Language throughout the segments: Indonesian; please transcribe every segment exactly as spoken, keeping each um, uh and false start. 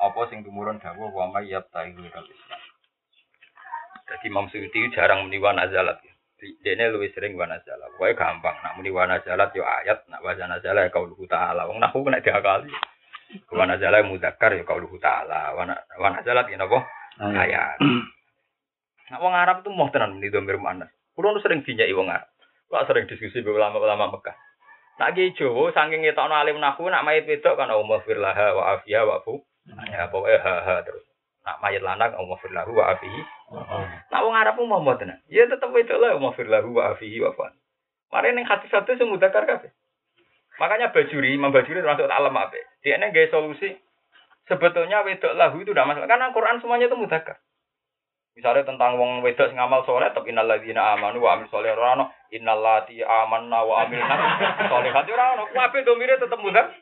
apa sing tumurun dawuh wa may yabtahi ghairal Islam. Jadi Imam Suyuti jarang muni wa nazalat. Dene luwih sering wa nazalat. Pokoke gampang nak muni wa nazalat yo ayat, nak wa nazalat ya qaulhu ta'ala. Wong nahwu kena diakali. Wa nazalat muzakkar ya qaulhu ta'ala. Wa nazalat ya napa? Ayat. Nak wong Arab itu mau tenan muni dhamir muannas. Kulo sering dinyaki wong Arab. Kok sering diskusi be ulama-ulama Mekah. Nak ki Jawa saking ngetokno alim nahwu nak mayit wedok kan Allahumma firlaha wa afiya wa fu. Ya pokoke ha ha terus. Nak mayit lanang Allahumma firlahu wa afihi. Nak wong Arab mau mau tenan. Ya tetep wedok lah Allahumma firlahu wa afihi wa fu. Mare ning hadis satu sing mudzakkar kabeh. Makanya Bajuri, Imam Bajuri termasuk alim apik. Dia ini gawe solusi. Sebetulnya wedok lahu itu tidak masalah karena Quran semuanya itu mudzakkar. Misalnya tentang wong wedok sing amal saleh tapi innal ladzina amanu wa amilus sholihati ora ono innal lati amanna wa amilna sholihati ora ono kabeh domire tetep mudzak.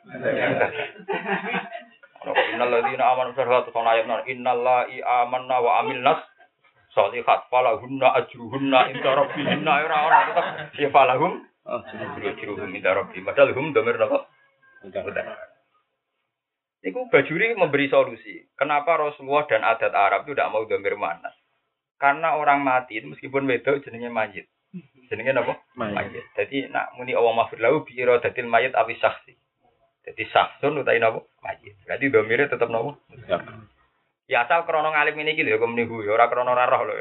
Ono innal ladzina amanu sholihati sonayatna innal lati amanna wa amilnas sholihat falahunna ajruhunna inda rabbihinna ora ono tetep ya falahum ajruhum inda rabbihim padahal hum domir napa? Mudzak. Iku Bajuri memberi solusi. Kenapa Rasulullah dan adat Arab itu tidak mau dhamir muannas? Karena orang mati itu meskipun wedok jenenge mayit. Jenenge napa? Mayit. Jadi nak muni Allah maghfir lahu bi iradatil mayit awi syakhsi. Jadi syakhsun utawi napa? Mayit. Berarti dhamire tetep napa? Ya asal krana ngalim ini iki lho kok meniku ya ora krana ora roh lho.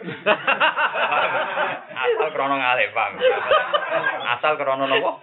Asal krana ngalim, Bang. Asal krana napa?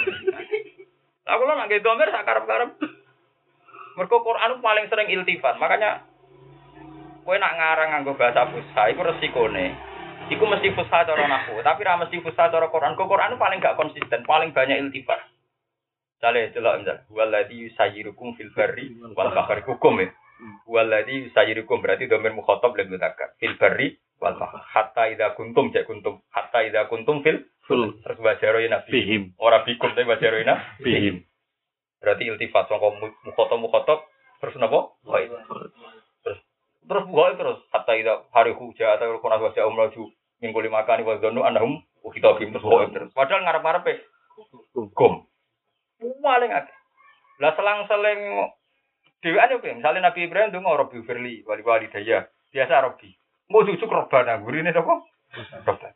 Aku lho nek dhamir sak karep-karep. Mergo Quran paling sering iltifat. Makanya kowe nak ngarang nganggo bahasa fusha iku resikone. Iku mesti fusha cara nahwu, tapi ra mesti fusha cara Quran. Kok Quran paling gak konsisten, paling banyak iltifat. Jale delok misal, waladzi yusayyirukum fil barri wal bahri hukum ya. Waladzi yusayyirukum berarti dhamir mukhatab lan mudzakkar. Fil barri wal bahri hatta idza kuntum ja kuntum hatta idza kuntum fil terus bajaroina bihim. Ora bikum tapi bajaroina bihim. Berarti iltifat sangka mukhatab mukhatab terus napa? Baik. Terus terus buka terus hatta ida hari huja atau kuna wajah umraju minggu lima kali wa dzanu annahum kita bim terus buka terus. Padahal ngarep-ngarepe hukum. Paling akeh. Lah selang-seling dhewean yo misale Nabi Ibrahim ndonga Rabbi firli wali wali daya. Biasa Rabbi. Mau cucuk robana gurine sapa? Robana.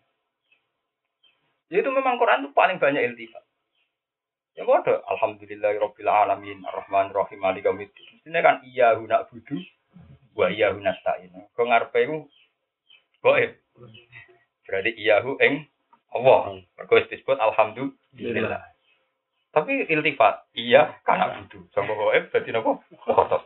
Itu memang Quran itu paling banyak iltifat. Ya bodoh, alhamdulillahirabbil alamin arrahmanir rahim maliki yaumiddin. Ini kan iya guna budu wa iya guna nasta'in. Kok ngarepe iku goib. Berarti iya hu ing Allah. Mergo disebut alhamdulillah. Tapi iltifat iya kana budu. Sangko goib dadi napa? Khotob.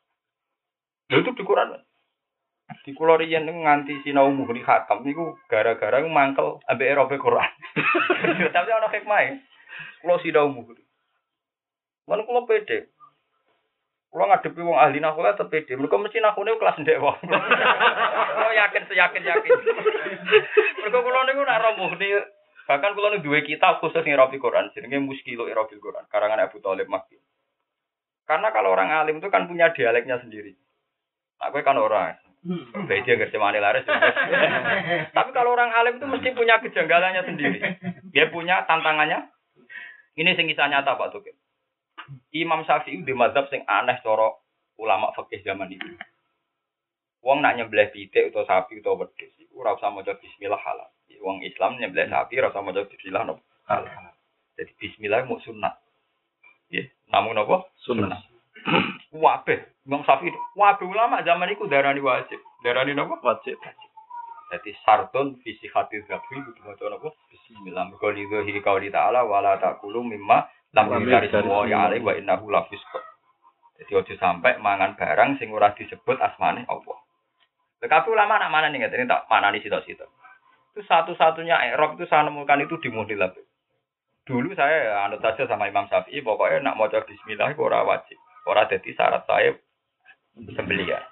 Lha itu di Quran. Di kula riyen nganti sinau muhri khatam niku gara-gara mangkel ambek erobe Quran. Tapi ana hikmah. Kulo sidau muhri. Mana kulo pede. Kulo ngadepi wong ahli nahwu tetep pede. Mergo mesti nahune kelas ndek wong. Kulo yakin seyakin-yakin. Mergo kulo niku nak ro muhri, bahkan kulo niku duwe kitab khusus ngirabi Quran jenenge Muskilu Irabil Quran, karangan Abu Thalib Makki. Karena kalau orang alim itu kan punya dialeknya sendiri. Aku kan orang. Beda ngerjemane laris. Tapi kalau orang alim itu mesti punya kejanggalannya sendiri. Dia punya tantangannya. Ini sing kisah nyata Pak Tukin. Imam Syafi'i di mazhab sing aneh cara ulama fikih zaman itu. Wong nak nyembelih pitik utawa sapi utawa wedhus iku ora usah maca bismillah halal. Wong Islam nyembelih sapi ora usah maca bismillah no. Halal. Jadi bismillah mu sunat. Nggih, namun napa? Sunat. Wabeh, Imam Syafi'i, wabeh ulama zaman iku darani wajib. Darani napa? Wajib. Jadi sartun visi hati zabi itu macam apa? Bismillah. Kalau itu qauli ta'ala wala taqulu mimma lam yuzarismu ya alaihi wa innahu lafisq. Jadi ojo sampai mangan barang sing ora disebut asmane Allah. Tapi ulama nak mana nih ngerti tak manani sitok-sitok. Itu satu-satunya i'rab itu saya nemukan itu di Muhdilab. Dulu saya anut saja sama Imam Syafi'i pokoknya nak maca bismillah itu ora wajib. Ora dadi syarat saya sembelihan.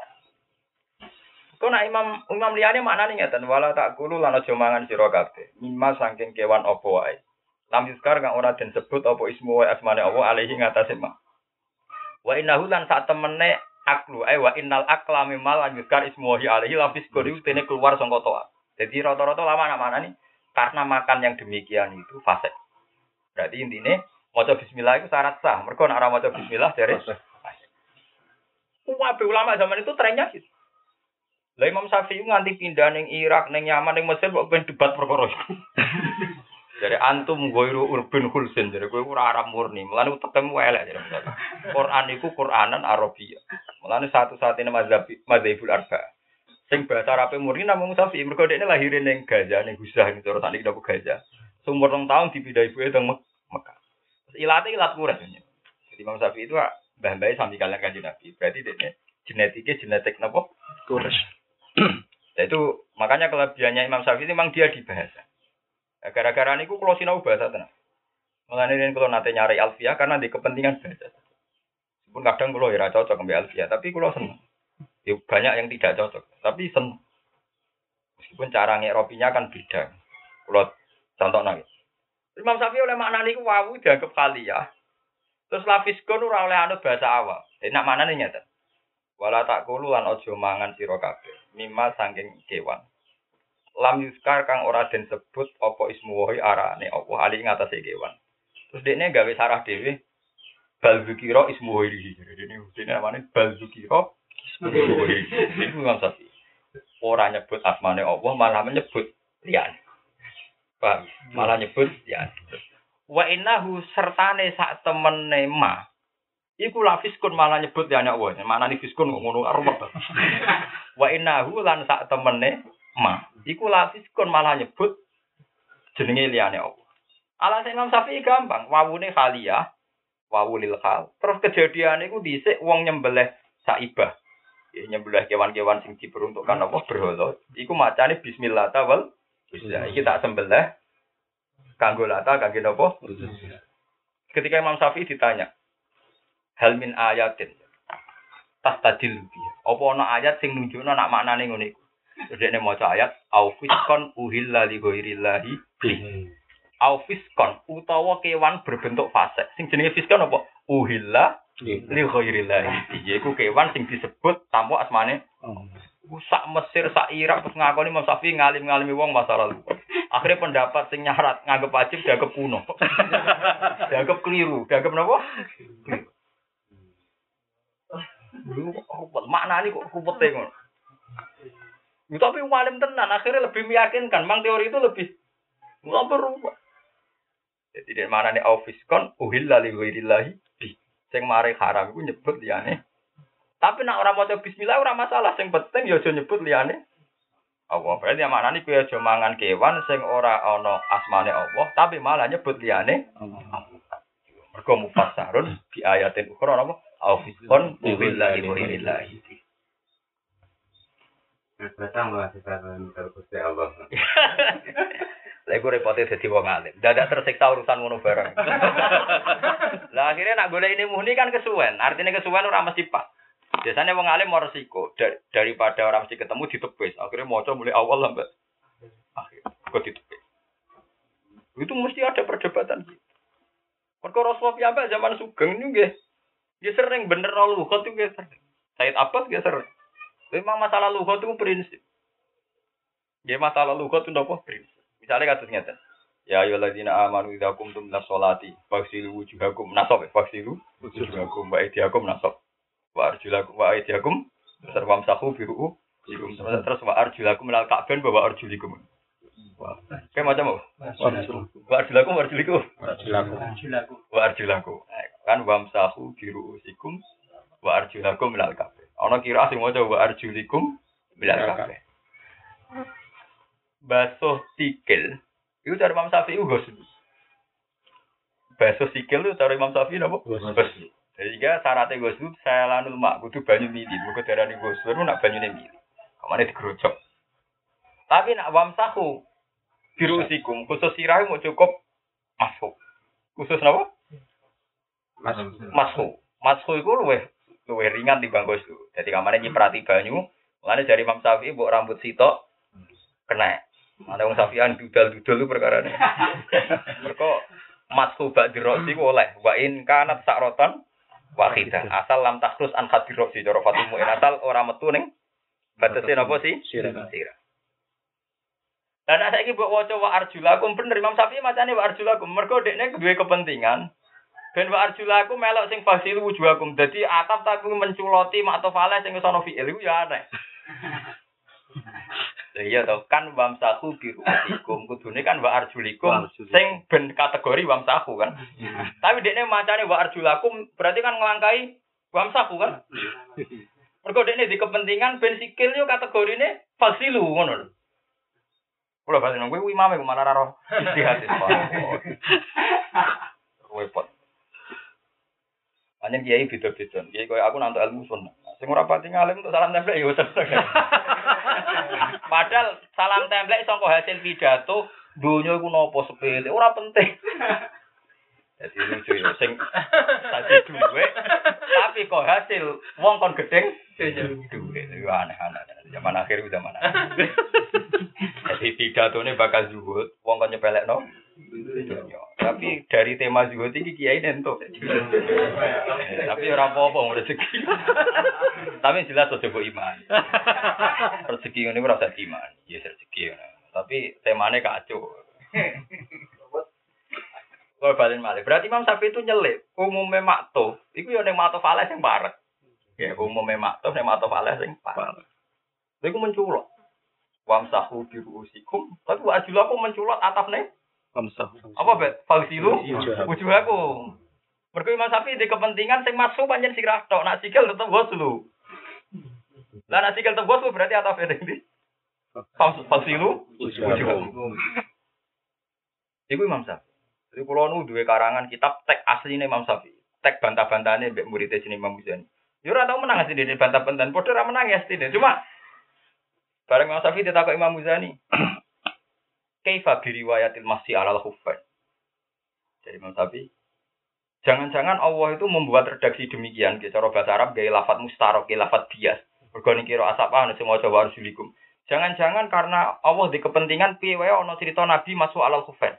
Kau nak imam imam liyane maknane ngeten wala takulu lan aja mangan sira kabeh mimma saking kewan apa wae lam yuskar kang ora den sebut apa ismu wa asmane Allah alaihi ngatasé ma wa innahu lan sak temene aklu ay wa innal akla mimma lan yuskar ismu wa alaihi lafis kodi tene keluar saka toa. Jadi rata-rata lama nak maknane karena makan yang demikian itu fasik. Berarti intine maca bismillah itu syarat sah. Mergo nek ora maca bismillah dari Kabeh ulama zaman itu trennya gitu. Lah Imam Syafi'i nganti pindah ning Irak, ning Yaman, ning Mesir kok ben debat perkara iku. Jadi antum goiru urban hulsin, jadi kowe ora Arab murni. Mulane utekmu elek jadi. Quran iku Quranan Arabia. Mulane satu-satunya mazhab mazhabul arba. Sing bahasa Arab murni namung Syafi'i. Mergo dekne lahir ning Gaza, ning Guzah ning cara sakniki napa Gaza. Umur rong tahun dipindah ibuke teng Mekah. Ilate ilat Quraisy. Jadi Imam Syafi'i itu mbah-mbahe sami kalian Kanjeng Nabi. Berarti dekne genetiknya genetik napa? Quraisy. Nah itu makanya kelebihannya Imam Syafi'i memang dia di bahasa. Gara-gara niku kula sinau bahasa tenan. Mulane yen kula nate nyari alfiah karena di kepentingan bahasa. Meskipun kadang kula ora cocok ambek alfiah, tapi kula seneng. Ya banyak yang tidak cocok, tapi seneng. Meskipun cara ngeropinya kan beda. Kula contohna iki. Imam Syafi'i oleh makna niku wawu dianggap khaliyah. Terus lafiskon ora oleh anut bahasa awam. Dene nak manane nyata. Wala takulu lan aja mangan sira kabeh. Mimma saking kewan. Lam yuskar kang ora den sebut apa ismu wahi arane apa ali ing atase kewan. Terus dekne gawe sarah dhewe bal zikira ismu wahi. Dene dene namane bal zikira ismu wahi. Iku Imam Syafi'i. Ora nyebut asmane Allah malah menyebut liyane. Paham? Malah nyebut liyane. Wa innahu sertane sak temene ma. Iku lafiskun malah nyebut liyane Allah. Manane fiskun kok ngono arep. Wa innahu lan sak temene ma. Iku lafiskun malah nyebut jenenge liyane Allah. Alasan Imam Syafi'i gampang, wawune khaliyah, wawu lil khal. Terus kejadian iku dhisik wong nyembelih saibah. Ya nyembelih kewan-kewan sing diperuntukkan apa berhala. Iku macane bismillah tawal. Bisa iki tak sembelih kanggo lata kangge napa? Ketika Imam Syafi'i ditanya, hal min ayatin tas tadil biya. Apa ana ayat sing nunjukno nak maknane ngene iku? Dekne maca ayat au fiskon uhilla li ghairillahi bi. Au fiskon utawa kewan berbentuk fasik. Sing jenenge fiskon apa? Uhilla li ghairillahi. Iku kewan sing disebut tanpa asmane. Sak Mesir, sak Irak terus ngakoni Imam Syafi'i ngalim-ngalimi wong masa lalu. Akhirnya pendapat sing nyarat nganggep wajib dianggap kuno. Dianggap keliru, dianggap napa? Lu kok maknane kok kupete ngono. Tapi walim tenan akhirnya lebih meyakinkan, mang teori itu lebih enggak berubah. Jadi dari maknane aufiskon uhilla li ghairillahi bi. Sing mari haram iku nyebut liyane. Tapi nak ora maca bismillah ora masalah, sing penting ya aja nyebut liyane Allah. Berarti maknane kuwi aja mangan kewan sing ora ana asmane Allah, tapi malah nyebut liyane Allah. Mergo mufassarun bi ayatin ukhra apa? Aufiskon billahi wa billahi. Betang bahasa kalian terkusti Allah. Lah iku repote dadi wong alim. Dadak tersiksa urusan ngono bareng. Lah akhirnya nak golek ini muni kan kesuwen. Artinya kesuwen ora mesti pas. Biasanya wong alim mau resiko Dar- daripada orang mesti ketemu ditepis. Akhirnya maca mulai awal sampai akhir kok ditepis. Itu mesti ada perdebatan gitu. Perkara Rasulullah piyambak zaman Sugeng niku nggih. Nggih sering bener lughat itu nggih sering. Said Abbas nggih sering. Memang masalah lughat itu prinsip. Nggih masalah lughat itu napa prinsip. Misalnya kados ngeten. Ya ayyuhalladzina amanu idza qumtum ila sholati faghsilu wujuhakum nasab faghsilu wujuhakum wa aydiyakum nasab. Wa arjulakum wa aydiyakum sarwam sahu biru terus wa arjulakum lal ka'ban bawa arjulikum. Wah, kayak macam apa? Wa arjulakum wa arjulikum. Arjulakum. Wa arjulakum. Kan wamsahu biru usikum wa arjulakum lal ka'ban. Ana kira sing maca wa arjulikum lal ka'ban. Basuh sikil. Itu cara Imam Syafi'i ghusl. Basuh sikil itu cara Imam Syafi'i napa? Ghusl. Sehingga syaratnya ghusl saya lanul mak kudu banyu mili. Mergo darane ghusl nak banyune mili. Kamane digerojok. Tapi nak wamsahu birusikum khusus sirah mau cukup masuk. Khusus napa? Masuk. Masuk. Masuk iku luwih luwih ringan timbang ghusl. Jadi kamane nyiprati banyu, mulane dari Imam Syafi'i mbok rambut sitok kena. Ana wong Syafi'an dudal-dudal itu perkarane. Mergo masuk bak diroksi oleh wa in kanat sakrotan wahidah. Asal lam takhrus an khadiroksi cara Fatimah in asal ora metu ning batese napa sih? Sirah. Dan saiki mbok waca wa arjulakum bener Imam Syafi'i macane wa arjulakum mergo dekne duwe kepentingan Ben wa arjulakum melok sing fasilu wujuhakum. Dadi atap tapi menculoti maktofale sing wis ana fi'il iku ya aneh. Lah iya to kan wamsahu bi ru'atikum kudune kan wa arjulikum sing ben kategori wamsahu kan. Tapi dekne macane wa arjulakum berarti kan nglangkai wamsahu kan. Mergo dekne di kepentingan ben sikil yo kategorine fasilu ngono lho. Kula bali nang kowe imame kok malah ora istihad. Repot. Anjen kiai beda-beda. Kiai koyo aku nantuk ilmu sunnah. Sing ora pati ngalim untuk salam templek ya wis. Padahal salam templek saka hasil pidato donya iku napa sepele, ora penting. Dadi lucu ya sing tadi duwe tapi kok hasil wong kon gedeng duwe. Iku aneh-aneh. Zaman akhir zaman akhir. Jadi pidatone bakal zuhud, wong kon nyepelekno dunya. Tapi dari tema zuhud iki kiai nentuk. Tapi ora apa-apa rezeki. Tapi jelas aja mbok iman. Rezeki ngene ora usah iman. Ya rezeki. Tapi temane kacau. Kalau balen malih. Berarti Imam Syafi'i itu nyelip. Umume makto, iku ya ning makto fales sing parek. Ya umume makto ning makto fales sing parek. Iku menculot. Wamsahu bi ru'usikum. Tapi wa ajlaku menculot atapne wamsahu. Apa bet? Fausilu wujuhakum. Mergo Imam Syafi'i di kepentingan sing masuk pancen sirah tok, nak sikil tetep waslu. Lah nak sikil tetep waslu berarti atape ndi? Fausilu wujuhakum. Iku Imam Syafi'i. Jadi kula nu duwe karangan kitab teks asline Imam Syafi'i. Teks bantah-bantahane mbek murid-e sini Imam Muzani. Yo ora tau menang asline bantah-bantahan, padha ora menang ya asline. Cuma bareng Imam Syafi'i ditakok Imam Muzani. Kaifa bi riwayatil masih alal khuffain. Jadi Imam Syafi'i, jangan-jangan Allah itu membuat redaksi demikian, ke cara bahasa Arab gaya lafaz mustarok, gaya lafaz bias. Mergo ning kira asapa ana sing maca warjulikum. Jangan-jangan karena Allah di kepentingan piye wae ana cerita Nabi masuk alal khuffain.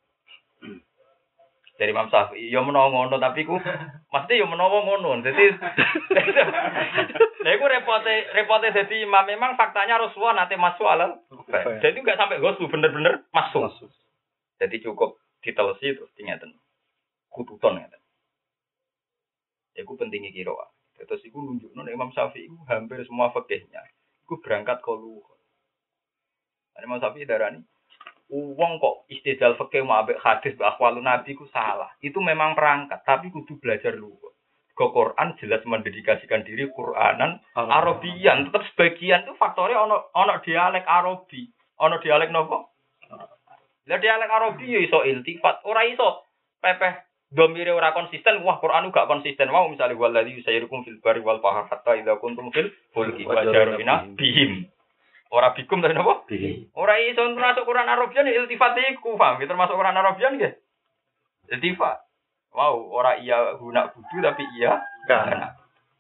Dari Imam Syafi'i, yo menawa ngono tapi ku mesti yo menawa ngono. Dadi lha iku repote repote dadi imam memang faktanya Rasulullah nate masuk alal. Jadi enggak sampai goslu bener-bener masuk. Jadi cukup ditelesi terus ngeten. Kututon ngeten. Iku pentingnya kira. Terus iku nunjukno nek Imam Syafi'i iku hampir semua fikihnya iku berangkat kolu. Imam Syafi'i darani wong kok istidlal fikih mau ambek hadis akhwalun nabi ku salah. Itu memang perangkat, tapi kudu belajar dulu. Ke Quran jelas mendedikasikan diri Quranan Arabian, tetap sebagian itu faktornya ono ono dialek Arabi. Ono dialek nopo? Lah dialek Arabi ya iso iltifat, ora iso pepeh domire ora konsisten. Wah, Quran gak konsisten. Mau misalnya waladzi yusayyirukum fil barri wal bahri hatta idza kuntum fil fulki wa jarina bihim. Ora bikum tapi napa? Bikum. Ora iso termasuk Quran Arabian iltifat iku, paham? Termasuk Quran Arabian nggih. Iltifat. Wow, ora iya guna kudu tapi iya kana.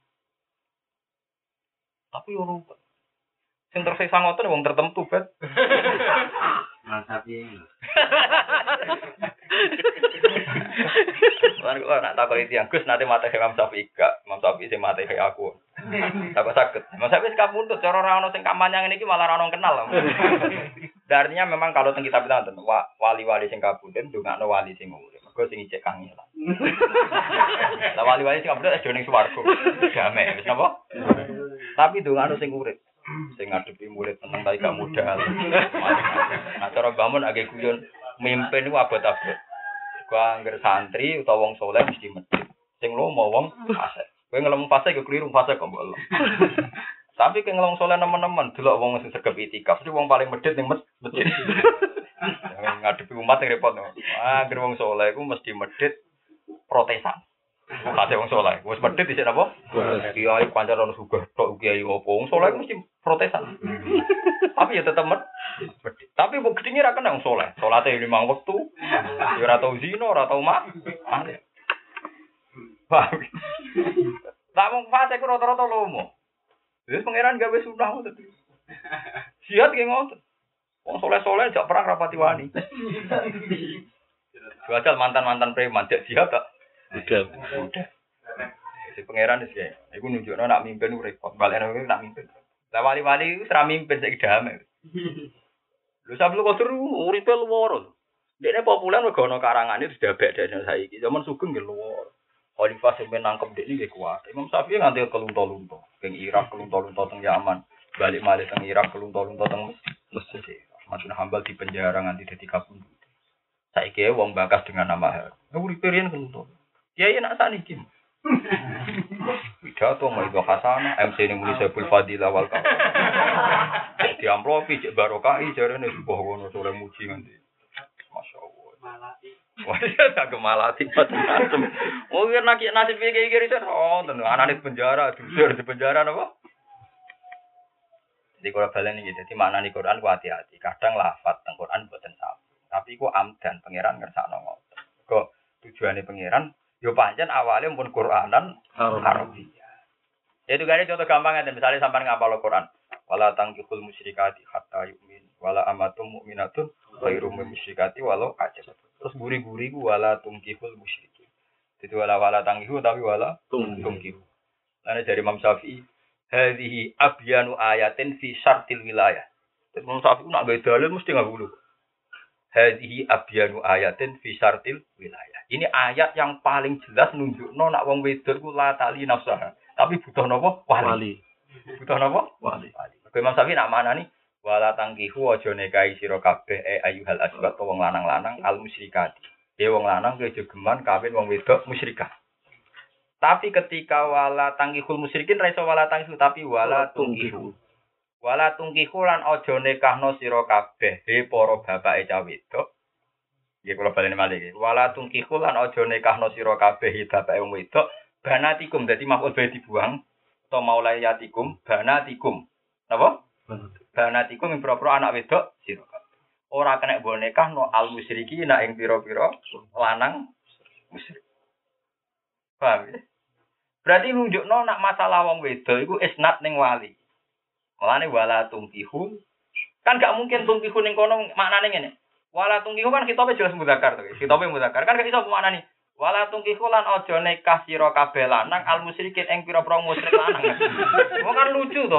Tapi ora sing tersisa ngoten wong tertentu, Bet. Tapi Lan kok nak takoki tiyang Gus nate mate Imam Syafi'i gak, Imam Syafi'i sing mate aku. Tak saged. Imam Syafi'i sing kapundhut cara ora ono sing kampanye ngene iki malah ora ono kenal. Artinya memang kalau teng kitab itu wali-wali sing kapundhut ndongakno wali sing urip. Mergo sing ijek kangelan. Lah wali-wali sing kapundhut aja ning swarga. Damai, wis napa? Tapi ndongakno sing urip. Sing ngadepi murid tenang tapi gak modal. Nah cara bangun agak guyon mimpin iku abot-abot. Gua angger santri utawa wong saleh mesti medhit. Sing lomo wong fase. Kowe ngelem fase yo kliru fase kok mbok. Tapi ke ngelong saleh nemen-nemen delok wong sing sregep itikaf, iki wong paling medhit ning masjid. Ngadepi umat sing repot. Ah, angger wong saleh iku mesti medhit protesan. Kate wong saleh, wis medhit dhisik napa? Kiai kancan ono sugih tok kiai opo. Wong saleh mesti protesan. Tapi ya tetep medhit. Tapi mbok gedhinge ra kena wong saleh. Salate limang wektu. Ya ora tau zina, ora tau mak. Paham. Lah wong fase ku rata-rata lomo. Wis pangeran gawe sunah ngoten. Jihad ki ngoten. Wong saleh-saleh jak perang rapati wani. Jual mantan-mantan preman jak jihad tak. Udah. Udah. Si pangeran wis kae. Iku nunjukno nak mimpin repot. Balekno nak mimpin. Lah wali-wali wis ra mimpin saiki damai. Lho sablu kodur uripe luwara. Dekne populer mergo ana karangane sudah beda dengan saiki. Zaman Sugeng nggih luwur. Khalifah sing nangkep dekne nggih kuat. Imam Syafi'i nganti kelunto-lunto. Teng Irak kelunto-lunto teng Yaman. Balik malih teng Irak kelunto-lunto teng Mesir. Ahmad bin Hambal di penjara nganti dadi kabundut. Saiki wong bakas dengan nama hal. Uripe riyen kelunto. Kiai nak saniki. Pidato mau itu Hasanah, M C ini muni Saiful Fadilah wal Kaum. Di amplopi cek barokai jarene sebuah wono soleh muji nganti. Masyaallah. Malati. Wah, ya tak gemalati macam-macam. Mungkin nak nasib iki iki riset oh, tenan anane penjara, dusur di penjara napa? Jadi kalau balen iki dadi maknane Quran ku hati-hati. Kadang lafaz teng Quran boten sama. Tapi ku amdan pangeran ngersakno ngoten. Kok tujuane pangeran yo pancen awalnya pun Quranan Arabia. Itu gane contoh gampang aja misalnya sampean ngapal Quran. Wala tangkihul musyrikati hatta yu'min. Wala amatum mu'minatun ghairu musyrikati walau ajab. Terus guri-guri ku wala tungkihul musyrikin. Jadi wala wala tangkihu tapi wala tungkihu. Karena dari Imam Syafi'i, hadhihi abyanu ayatin fi syartil wilayah. Jadi Imam Syafi'i nak gawe dalil mesti ngabulu. Hadhihi abyanu ayatin fi syartil wilayah. Ini ayat yang paling jelas nunjukno nak wong wedok ku la tali nafsah. Tapi butuh napa? Wali. Butuh napa? Wali. Kowe Imam Syafi'i nak manani wala tangkihu aja nikahi sira kabeh e ayyuhal asbat wong lanang-lanang al musyrikati. Ya wong lanang kuwi aja geman kawin wong wedok musyrikah. Tapi ketika wala tangkihul musyrikin ra iso wala tangkihu tapi wala tungkihu. Wala tungkihu lan aja nikahno sira kabeh he para bapake cah wedok. Nggih kula baleni malih iki. Wala tungkihu lan aja nikahno sira kabeh he bapake wong wedok banatikum dadi maf'ul bae dibuang atau maulayatikum banatikum. Napa? Banatikum ing pira-pira anak wedok sira kabeh. Ora kena mbok nikahno al musyriki nak ing pira-pira lanang musyrik. Paham ya? Berarti nunjukno nak masalah wong wedok iku isnad ning wali. Mulane wala tungkihu kan gak mungkin tungkihu ning kono maknane ngene. Wala tungkihu kan kitabe jelas mudzakkar to. Kitabe mudzakkar kan gak iso maknane. Wala tungkihu lan aja nikah sira kabeh lanang al musyrikin ing pira-pira musyrik lanang. Wong kan lucu to.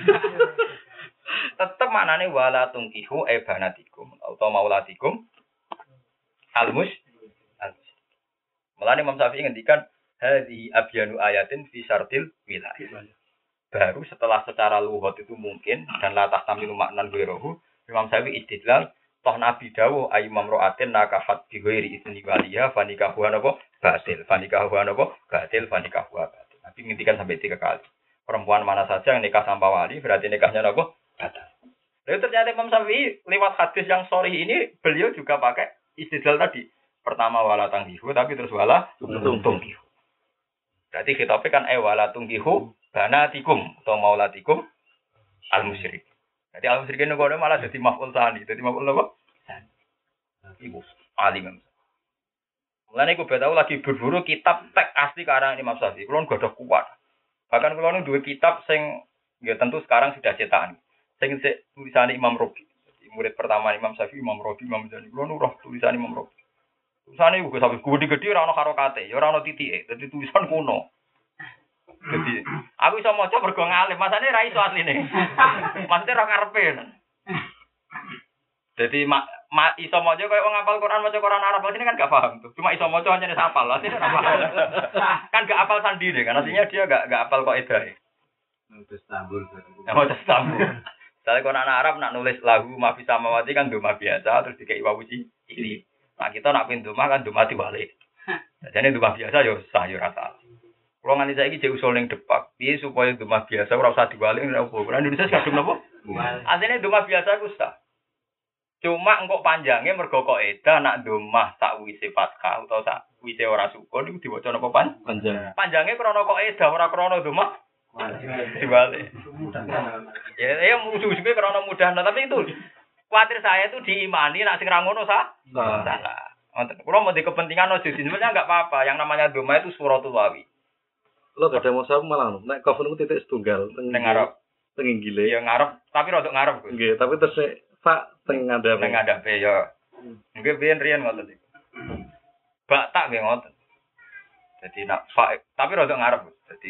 Tetep maknane wala tungkihu e banatikum atau maulatikum al mus al Mulane Imam Syafi'i ngendikan hadhi abyanu ayatin fi syartil wilayah. Baru setelah secara lughat itu mungkin dan latah tamilu maknan ghairuhu Imam Syafi'i istidlal toh Nabi dawuh ayu mamraatin nakafat bi ghairi izni waliha fanikahu napa batil fanikahu napa batil fanikahu batil. Nabi ngendikan sampai tiga kali. Perempuan mana saja yang nikah tanpa wali berarti nikahnya napa batal. Lalu ternyata Imam Syafi'i lewat hadis yang sahih ini beliau juga pakai istidlal tadi. Pertama wala tangkihu tapi terus wala tungkihu. Berarti khitabnya kan eh wala tungkihu banatikum atau maulatikum al musyrik. Jadi al musyrikin ngono malah jadi maf'ul tsani. Jadi maf'ul apa? Ibu alim. Mulane iku betau lagi berburu kitab teks asli karangan Imam Syafi'i. Kulo nggak ada kuat. Bahkan kulo nu duwe kitab sing ya tentu sekarang sudah cetakan. Sing tulisan Imam Rabi. Jadi murid pertama Imam Syafi'i Imam Rabi Imam Jani. Kulo nu roh tulisan Imam Rabi. Tulisane uga sampe gede-gede ora ono harokate, ya ora ono titike. Dadi tulisan kuno. Dadi aku iso maca mergo ngalim, masane ra iso asline. Maksudnya ora karepe. Dadi ma, ma iso maca koyo wong ngapal Quran maca Quran Arab asline kan gak paham tuh. Cuma iso maca hanya hafal, asline ora paham. Kan gak hafal sandine kan, artinya dia gak gak hafal kok edahe. Terus tambul. Ya mau tambul. Soale Quran Arab nak nulis lahu ma fi samawati kan doma biasa terus dikei wawuci iki. Nah kita nak pintu mah kan duma diwalik. Jadi duma biasa yo sah yo rasa. Kalau nganti saiki jek usul ning depak, piye supaya duma biasa ora usah diwalik ora apa. Ora Indonesia kadung napa? Asline duma biasa ku sah. Cuma engkok panjange mergo kok eda nak duma sakwise fathah utawa sakwise ora sukun iku diwaca napa pan? Panjang. Panjange krana kok eda ora krana duma diwalik. Ya ya musuh-musuhe krana mudah, tapi itu khawatir saya itu diimani, nak sing ra ngono sah? Salah. Wonten. Kulo mau di kepentingan ojo sebenarnya enggak apa-apa. Yang namanya doma itu suratul wawi. Lo gak ada masalah malah. Nek kafun ku titik setunggal teng ngarep. Teng inggile. Ya ngarep, tapi rodok ngarep. Nggih, tapi terus fa teng ngadep. Teng ngadepe ya. Nggih biyen riyen ngoten iki. Bak tak nggih ngoten. Jadi nak fa tapi rodok ngarep. Jadi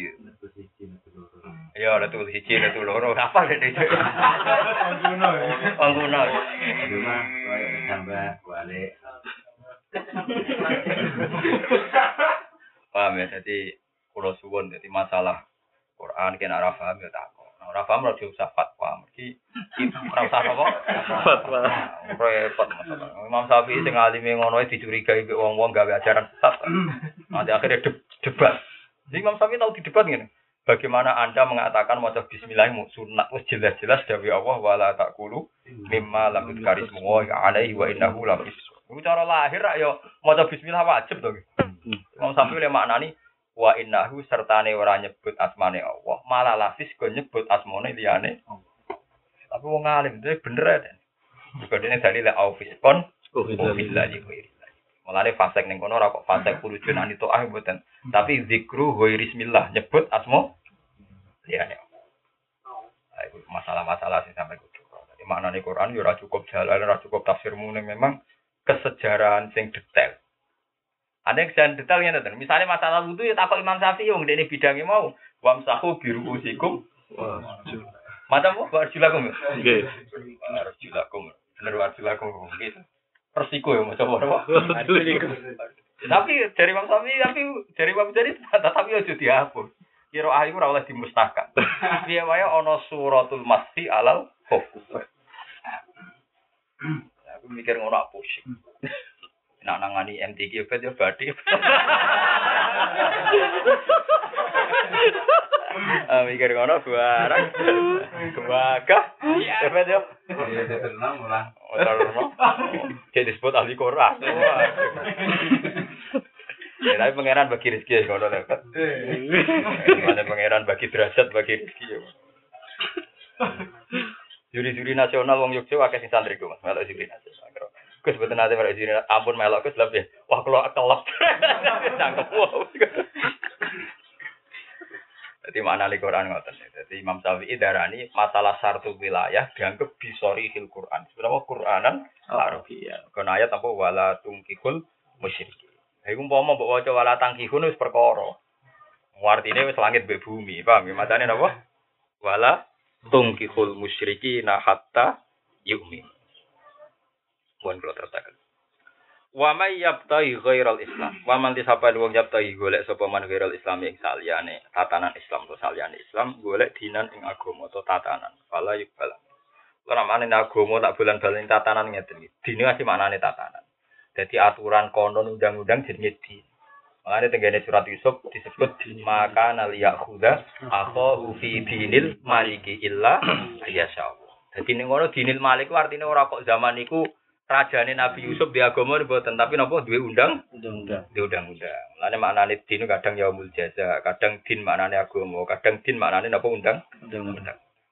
ya ada tuh hiji ada tuh loro apa deh itu angguno angguno cuma tambah balik Paham ya? Jadi kula suwun jadi masalah Quran kena ora paham ya takok. Nah, ora paham ora usah fatwa. Mergi ora usah apa? Fatwa. Repot masalah. Imam Syafi'i sing alime ngono dicurigai mbek wong-wong gawe ajaran sesat. Nanti akhirnya de- debat. Jadi Imam Syafi'i tahu di debat ngene. Bagaimana Anda mengatakan maca bismillah sunat wis jelas-jelas dawuh Allah wala taqulu mimma lam yudkarismu wa alaihi wa innahu la fisq. Iku cara lahir rak yo maca bismillah wajib to. Imam Syafi'i le maknani wa innahu sertane ora nyebut asmane Allah, malah lafis go nyebut asmane liyane. Tapi wong alim itu bener ya. Juga dene dalil au fiskon billahi wa mulane fasek ning kono ora kok fasek pulujon anito ah mboten. Tapi zikru wa bismillah nyebut asma liyane. Ayo masalah-masalah sing sampe kudu. Jadi maknane Quran yo ora cukup jalan, ora cukup tafsirmu ning memang kesejarahan sing detail. Ada yang jangan detail ya nanti. Misalnya masalah wudu ya takut Imam Syafi'i yang ini bidangnya mau wamsahu biru usikum. Macam apa? Arjulakum. Nggih. Arjulakum. Bener arjulakum gitu. Persiko ya macam apa? Tapi dari Imam Syafi'i tapi dari Imam Jadi tapi aja dihapus. Kira ayu ora oleh dimustahkan. Piye wae ana suratul masfi alal khuf. Aku mikir ngono apa sih. Nak nangani M T Q bet yo badhe. Ah mikir ngono barang. Kebagah. Ya bet yo. Ya tenang ora. Ora. Jadi disebut ahli Quran. Ya tapi pangeran bagi rezeki ngono lho. Ada pangeran bagi derajat bagi rezeki yo. Juri-juri nasional wong Yogyakarta akeh sing santri ku Mas, melok juri nasional. Kus mboten ate melok juri ampun melok kus lebih. Wah kula kelep. Cangkep wae. Dadi makna li Quran ngoten. Dadi Imam Syafi'i darani masalah sartu wilayah dianggap bisori hil Quran. Sebenarnya Quranan Arabiyah. Kon ayat apa wala tungkihul musyrikin. Iku umpama mbok waca wala tangkihun wis perkara. Artine wis langit mbek bumi, paham ya? Matane napa? Wala tungkihul musyrikina hatta yu'min. Pun kula tertaken. Wa may yabtaghi ghairal Islam. Wa man tisapa wong yabtaghi golek sapa man ghairal Islam ing saliyane tatanan Islam to saliyane Islam golek dinan ing agama to tatanan. Fala yubal. Ora manane agama tak bulan-bulan tatanan ngeten iki. Dine asih maknane tatanan. Dadi aturan konon undang-undang jenenge din. Makanya tenggene surat Yusuf disebut maka naliyakhudha akhahu fi dinil maliki illa ayyasyallah. Dadi ning ngono dinil malik ku artine ora kok zaman niku rajane Nabi Yusuf di agama mboten tapi napa duwe undang undang duwe undang-undang. Mulane maknane din kadang yaumul jaza, kadang din maknane agama, kadang din maknane napa undang undang.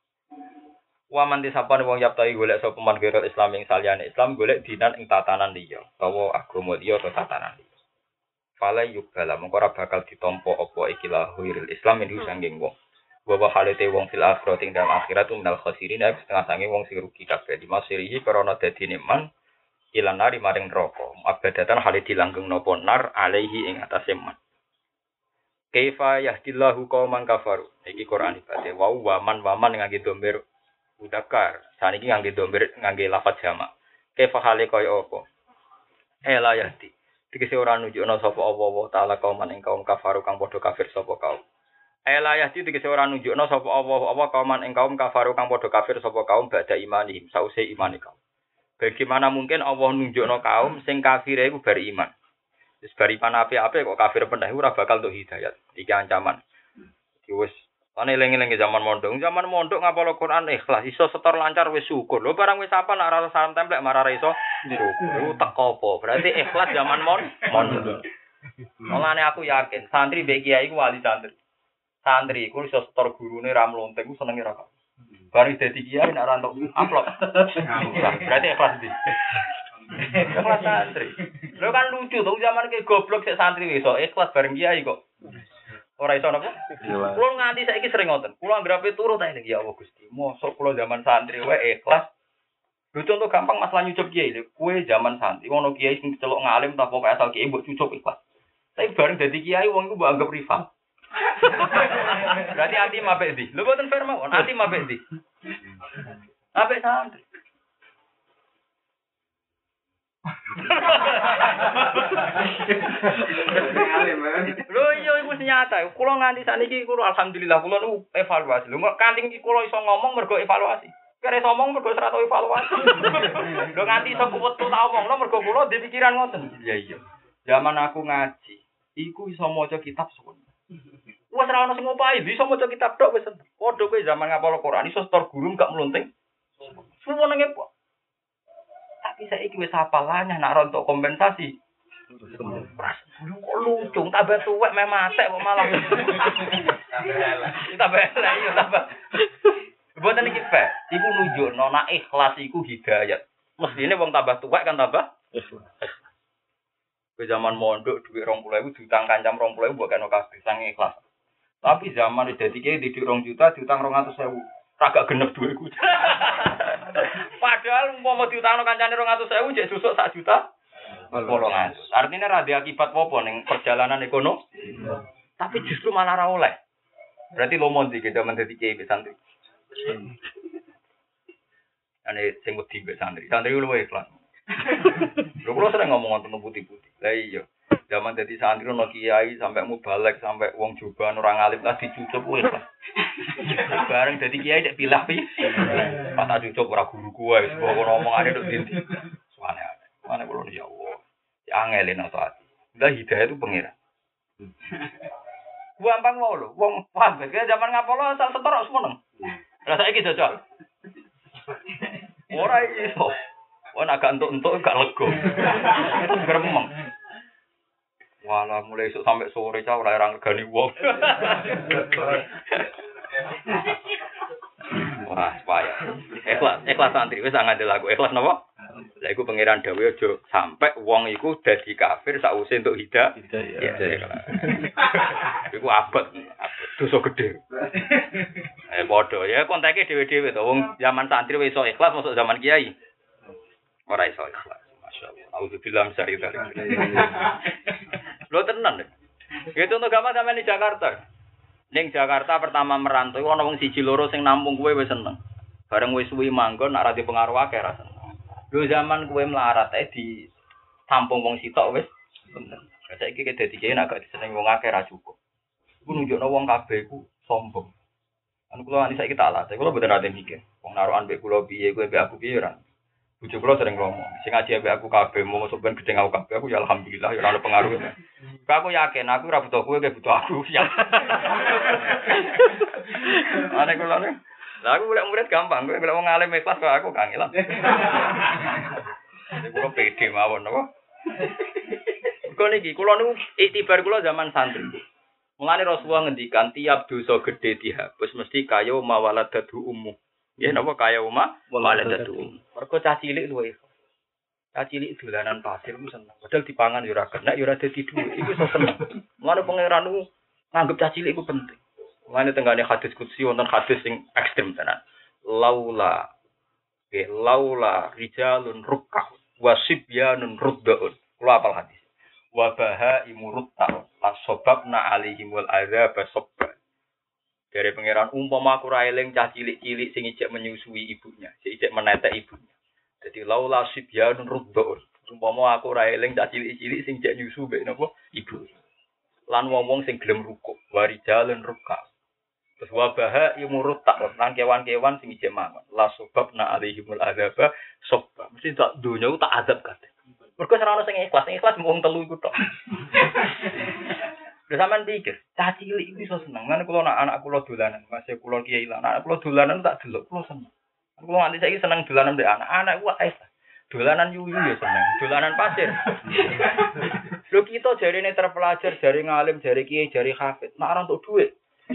Wa man disapane wong yaptai golek sapa man kira Islam ing saliyane Islam golek dinan ing tatanan liya, utawa agama liya atau tatanan liya. Fala yubala mongko ora bakal ditampa apa ikilah huiril Islam ini sanging wong. Wa halate wong fil akhirat ing dalam akhirat minal khasirin setengah sange wong sing rugi kabeh di masirihi karena dadine man ilan nari maring neraka. Abadatan hale dilanggeng napa nar alaihi ing atase man. Kaifa yahdillahu qauman kafaru. Iki Quran ibate wa wa man wa man ngangge domber udakar. Saniki ngangge domber ngangge lafaz jamak. Kaifa hale kaya apa? Ela yahdi. Dikese ora nunjukna sapa Allah taala kauman ing kaum kafaru kang padha kafir sapa kaum. Ela yahdi dikese ora nunjukna sapa Allah apa kauman ing kaum kafaru kang padha kafir sapa kaum badha imanihim sause imane kaum. Bagaimana mungkin Allah nunjukna kaum sing kafir iku bar iman. Wis bar iman apik-apik kok kafir pendah ora bakal untuk hidayat. Iki ancaman. Iki wis ana eling-eling zaman mondok. Zaman mondok ngapal Quran ikhlas iso setor lancar wis syukur. Lho barang wis apa nek ora salam templek marah iso syukur. Teko apa? Berarti ikhlas zaman mondok. Mulane aku yakin santri mbek kiai iku wali santri. Santri iku iso setor gurune ra mlontek ku senenge ra. Bari dadi kiai nek ora entuk amplop. Berarti ikhlas ndi? Ikhlas santri. Lho kan lucu to zaman ke goblok sik santri iso ikhlas bareng kiai kok. Ora iso napa? Kulo nganti saiki sering ngoten. Kulo anggerape turu ta ya Allah Gusti. Mosok kulo zaman santri wae ikhlas. Lho contoh gampang masalah nyucup kiai lho. Kowe zaman santri ono kiai sing celok ngalim ta pokoke asal kiai mbok cucup ikhlas. Tapi bareng dadi kiai wong iku mbok anggap rival. Berarti ati mapek ndi? Lho boten fair mawon. Ati mapek ndi? Apik santri. Lho iya iku nyata. Kula nganti saniki kula alhamdulillah kula nu evaluasi. Lho kanthi iki kula iso ngomong mergo evaluasi. Kare iso ngomong mergo ora tau evaluasi. Lho nganti iso kuwetu tak omongno mergo kula ndek pikiran ngoten. Iya iya. Zaman aku ngaji, iku iso maca kitab suwen. Wes ora ono sing ngopahi, iso maca kitab tok wis. Padha kowe zaman ngapal Quran iso setor guru gak melunting. Suwene kok. Tapi saiki wis hafalane nak rontok kompensasi. Pras, kok lucu, tambah tuwek meh matek kok malah. Tambah elek yo tambah. Mboten iki fair. Iku nunjukno nek ikhlas iku hidayat. Mestine wong tambah tuwek kan tambah ikhlas. Ke zaman mondok dhuwit rong puluh ribu diutang kancam rong puluh ribu mbok kena kabeh sange ikhlas. Tapi zaman dadi kiai didik rong juta diutang rong atus ribu. Kagak genep dhuwitku. Padahal umpama diutangno kancane rong atus ribu jek susuk sak juta. Wolong atus. Artinya ra ada akibat apa ning perjalanan ekonomi. Tapi justru malah ra oleh. Berarti lomo ndi kita menjadi kiai santri. Ane sing wedi mbek santri. Santri luwe ikhlas. Lho kula sering ngomong ngoten putih-putih. Lah iya. Zaman dadi santri ono kiai sampai mubalek sampai wong joban orang alim lah dicucup kuwi ikhlas. Bareng dadi kiai nek pilah pi. Pas tak cucup ora guruku wae, kok ngomongane tok ndi. Suwane. Mana kula ya Allah. Ya angel nek ati. Lah hidayah itu pengira. Gampang wae lho. Wong paham ke zaman ngapolo asal setor semeneng. Lah saiki jajal. Ora iso. Wong agak entuk-entuk gak lega. Gremeng. Walah mulai esuk sampai sore cah ora ora ngregani wong. Wah, payah. Ikhlas, ikhlas santri wis ngandel aku. Ikhlas napa? Lah iku pangeran dawuh aja sampai wong iku dadi kafir sakwise entuk hidayah. Hidayah. Iku abot, dosa gedhe. Eh padha ya konteke dhewe-dhewe to wong zaman santri wis iso ikhlas masuk zaman kiai. Ora iso ikhlas. Masyaallah. Auzubillahi minasyaitonir rajim. Lho tenan. Ya contoh gampang sampeyan di Jakarta. Ning Jakarta pertama merantau ana wong siji loro sing nampung kowe wis seneng. Bareng wis suwi manggon nak ra di pengaruh akeh ra seneng. Lho zaman kowe melarat ae di tampung wong sitok wis bener. Saiki ki dadi kiai nak gak disenengi wong akeh ra cukup. Iku nunjukno wong kabeh iku sombong. Anu kula ani saiki tak latih, kula mboten ate mikir. Wong narukan mbek kula piye, kowe mbek aku piye ora. Bojo kula sering ngomong, sing ngaji mbek aku kabeh mau sampean gedeng aku kabeh, aku ya alhamdulillah ya ora ono pengaruh. Aku yakin aku ora butuh kowe, kowe butuh aku. Ane kula ne. Lah aku golek murid gampang, kowe golek wong alim ikhlas kok aku kangelan. Kula pede mawon napa. Kok niki kula niku iktibar kula zaman santri. Mulane Rasulullah ngendikan tiap dosa gedhe dihapus mesti kaya mawaladatu ummu. Ya napa kaya umma waladatu. Mergo cah cilik luwe. Cah cilik dolanan pasir ku seneng. Padahal dipangan ya ora kena ya ora dadi dhuwit. Iku iso seneng. Mulane pangeran ku nganggep cah cilik iku penting. Mulane tenggane hadis qudsi wonten hadis sing ekstrem tenan. Laula ke laula rijalun rukka wasibyanun ruddaun. Kula apal hadis. Wa baha imurutta lasobabna alaihimul adzab sabba. Dari pangeran umpama aku ra eling cah cilik-cilik sing ijek menyusui ibunya, sing ijek menetek ibunya. Jadi laula sibyanun ruddaun. Umpama aku ra eling cah cilik-cilik sing ijek nyusu mbek napa ibu. Lan wong-wong sing gelem rukuk, warijalun rukka. Terus wa baha imurutta lan kewan-kewan sing ijek mangan. Lasobabna alaihimul adzab sabba. Mesti tak donya tak azab kabeh. Mergo ora ono sing ikhlas, sing ikhlas mung telu iku tok. Lha sampean pikir, cah cilik iku iso seneng. Lan kula anak anak kula dolanan, masih kula kiai lan anak kula dolanan tak delok kula seneng. Kula nganti saiki seneng dolanan mbek anak-anak ku ae. Dolanan yuyu ya seneng, dolanan pasir. Lho kita jarine terpelajar, jari ngalim, jari kiai, jari hafid, nek ora entuk dhuwit.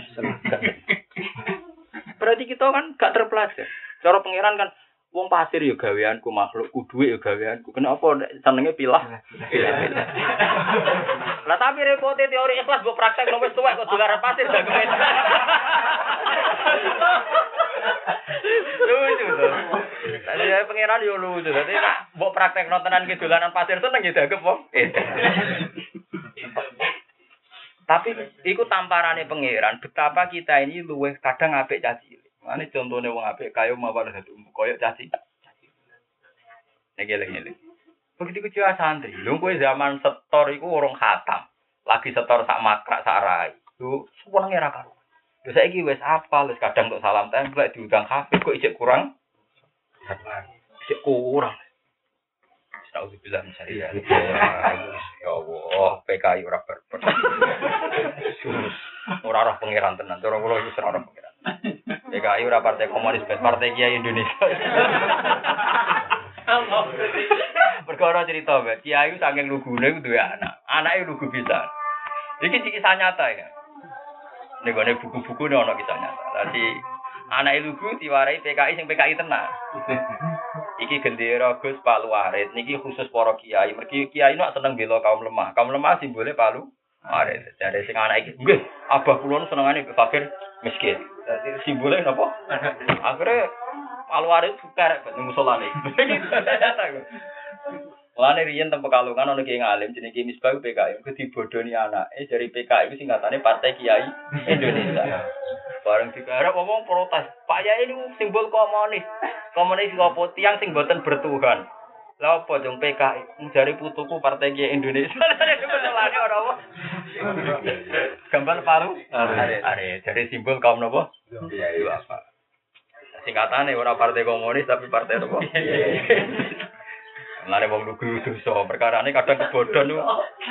Berarti kita kan gak terpelajar. Cara pangeran kan wong pasir ya gaweanku, makhluk ku dhuwit ya gaweanku. Kenapa senenge pilah? Pilah. Lah tapi repote teori ikhlas mbok praktek nang wis tuwek kok dolaran pasir dagemen. Lucu to. Tadi pangeran yo lucu. Dadi nek mbok praktek tenan ki dolanan pasir seneng ya dagem wong. Tapi iku tamparane pangeran betapa kita ini luwih kadang apik cah cilik. Mane contone wong apik kaya mawar dadi umum kaya cah cilik. Nek eleng-eleng. Begitu kecil santri. Lho kowe zaman setor iku urung khatam. Lagi setor sak makrak sak rai. Lho senenge ra karo. Lho saiki wis apal, wis kadang tok salam templek diundang hafid kok ijek kurang. Ijek kurang. Astagfirullah misalnya. Ya Allah, P K I ora berber. Ora roh pangeran tenan, cara kula iki ora roh pangeran. P K I ora partai komunis, partai Kiai Indonesia. Perkara cerita Mbak, Kiai saking lugune duwe anak. Anake lugu bisa. Iki kisah nyata ya. Ning gone buku-buku ne ana kisah nyata. Dadi anake lugu diwarai P K I sing P K I tenan. Iki gendera Gus Palu Arit niki khusus para kiai. Mergi kiai nek seneng bela kaum lemah. Kaum lemah simbole Palu Arit. Jare sing anak iki, nggih, abah kula senengane fakir miskin. Dadi simbole napa? Akhire Palu Arit kerek ben musolane. Mulane riyen teng Pekalongan ana kiai ngalim jenenge Ki Misbah P K I. Ku dibodoni anake dari P K I ku singkatane Partai Kiai Indonesia. Bareng digarap ngomong protes. Pak Yai ini simbol komunis. Komunis apa tiang sing boten bertuhan. Lah apa jeng P K I jare putuku Partai Kiai Indonesia. Betelane ora apa. Gambar paru. Are jare simbol kaum napa? Kiai apa. Singkatane ora partai komunis tapi partai apa? Mulane wong lugu dosa, perkarane kadang kebodhon niku.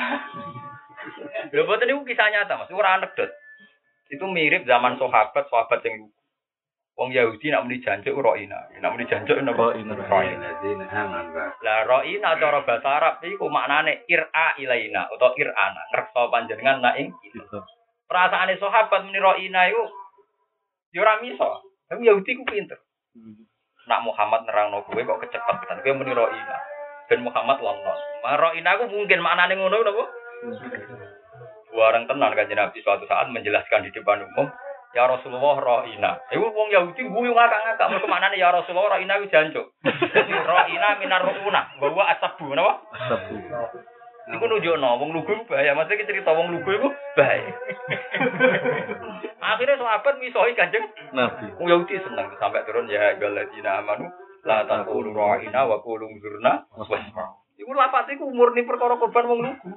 Lha boten niku kisah nyata, Mas, ora anekdot. Itu mirip zaman sahabat, sahabat sing wong Yahudi nak muni jancuk roina. Nak muni jancuk napa? Roina. Lah roina cara bahasa Arab iku maknane ira ilaina utawa irana, ngreksa panjenengan nak ing kita. Perasaane sahabat muni roina iku ya ora miso. Tapi Yahudi ku pinter. Nak Muhammad nerangno kowe kok kecepetan. Kowe muni roina. Ben Muhammad lonon. Roina ku mungkin maknane ngono napa? Warang tenan Kanjeng Nabi suatu saat menjelaskan di depan umum, ya Rasulullah roina. Iku wong Yahudi guyu ngakak-ngakak mergo maknane ya Rasulullah roina ku jancuk. Roina minar ruuna, bahwa asabu napa? Asabu. Iku nunjukno wong lugu bahaya, maksudnya cerita wong lugu iku bahaya. Akhirnya sahabat misoi Kanjeng Nabi. Wong Yahudi seneng sampai turun ya galadina amanu la taqulu ra'ina wa qulu zurna wasma. Iku lafate iku murni perkara korban wong lugu.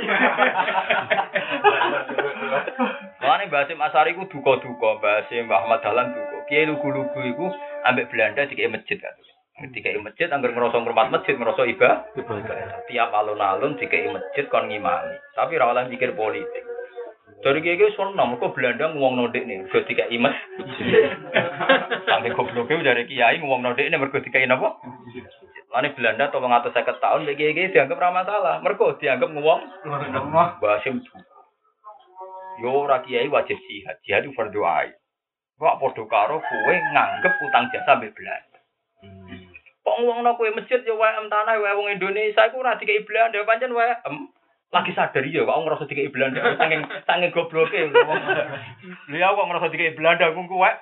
Mane Mbah Hasyim Asari ku duka-duka, Mbah Hasyim Mbah Ahmad Dahlan duka. Kiai lugu-lugu iku ambek Belanda dikek masjid kan. Dikek masjid anggar ngrasa ngurmat masjid, ngrasa ibadah. Tiap alun-alun dikek masjid kon ngimami. Tapi ora oleh mikir politik. Dari kiai kiai sono, mereka Belanda ngomong nodik nih, mereka tiga imas. Sampai gobloknya dari kiai ngomong nodik nih, mereka tiga apa? Lalu Belanda atau mengatur seket tahun, kiai kiai dianggap ramah salah, mereka dianggap ngomong. Basim. Yo rakyai wajib jihad, jihad itu berdoa. Kok podo karo kowe nganggep utang jasa mbek Belanda. Kok ngomong no kowe masjid yo wae em tanah wae wong Indonesia iku ora dikai Belanda pancen wae em. Lagi sadar ya, kok ngerasa dikai Belanda, saking saking gobloke. Liya kok ngerasa dikai Belanda ku kuwe.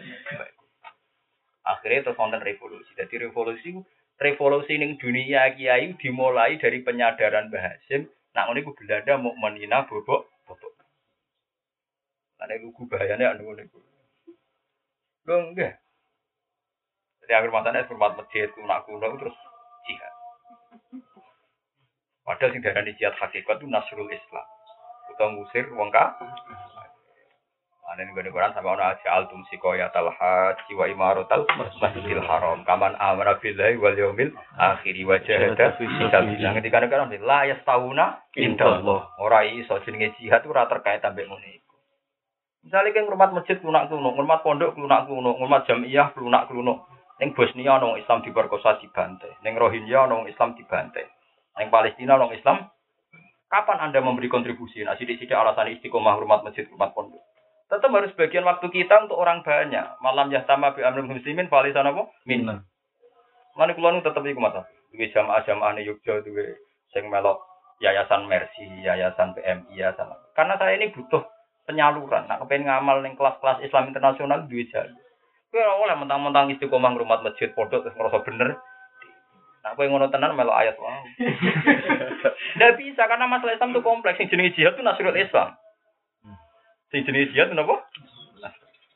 Akhirnya terus wonten revolusi. Jadi revolusi revolusi ning dunia kiai dimulai dari penyadaran Mbah Hasyim, nak ngene iku Belanda mau menina bobok-bobok. Ane lugu bahayane anu ngene iku. Lho nggih. Jadi akhir matane hormat masjid kuno-kuno terus jihad. Padahal sing darani jihad hakikat itu nasrul Islam. Utawa ngusir wong kafir. Ana ning Quran sampe ana ja'altum siqayatal haji wa imaratal masjidil haram. Kaman amara billahi wal yaumil akhir wa jahada fi sabilillah. Ketika kan la yastauna indallah. Ora iso jenenge jihad ora terkait ambek ngene iku. Misale keng ngurmat masjid lunak-lunak, ngurmat pondok lunak-lunak, ngurmat jamiah lunak-lunak. Ning Bosnia ana Islam diperkosa dibantai. Ning Rohingya ana Islam dibantai. Yang Palestina orang Islam, kapan Anda memberi kontribusi? Nah, sidik-sidik alasan istiqomah hormat masjid, hormat pondok. Tetap harus bagian waktu kita untuk orang banyak. Malam yahtama bi amrul muslimin falisan apa? Minna. Mana kula nu tetep iku mata. Duwe jamaah-jamaah ne Yogyakarta duwe sing melok yayasan Mercy, yayasan P M I yayasan. Karena saya ini butuh penyaluran. Nah, kepengen ngamal ning kelas-kelas Islam internasional duwe jalur. Kowe ora oleh mentang-mentang istiqomah hormat masjid pondok terus ngerasa bener. Nah, kowe ngono tenan melok ayat wae. Ndak bisa karena masalah Islam itu kompleks. Sing jenenge jihad itu nasrul Islam. Sing jenenge jihad napa?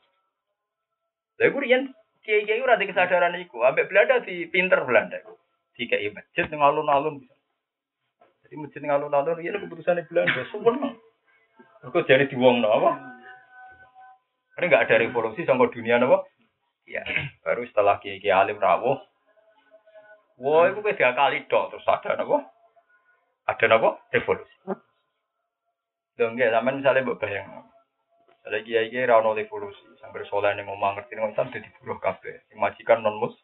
Lha iku riyen kiai-kiai ora ada kesadaran iku. Ambek Belanda di pinter Belanda. dikai masjid ning alun-alun bisa. Jadi masjid ning alun-alun iki keputusane Belanda suwen. Kok jare diwongno apa? Karena enggak ada revolusi sama dunia apa? Ya, baru setelah Kiai Alim rawuh. Wah, itu beda kali dok terus ada apa? Ada apa? Revolusi. Dong ya, zaman misalnya mbok bayang. Ada kiai-kiai ra ono revolusi, sambil soleh ning omah ngerti ning Islam dadi buruh kabeh. Sing majikan non mus.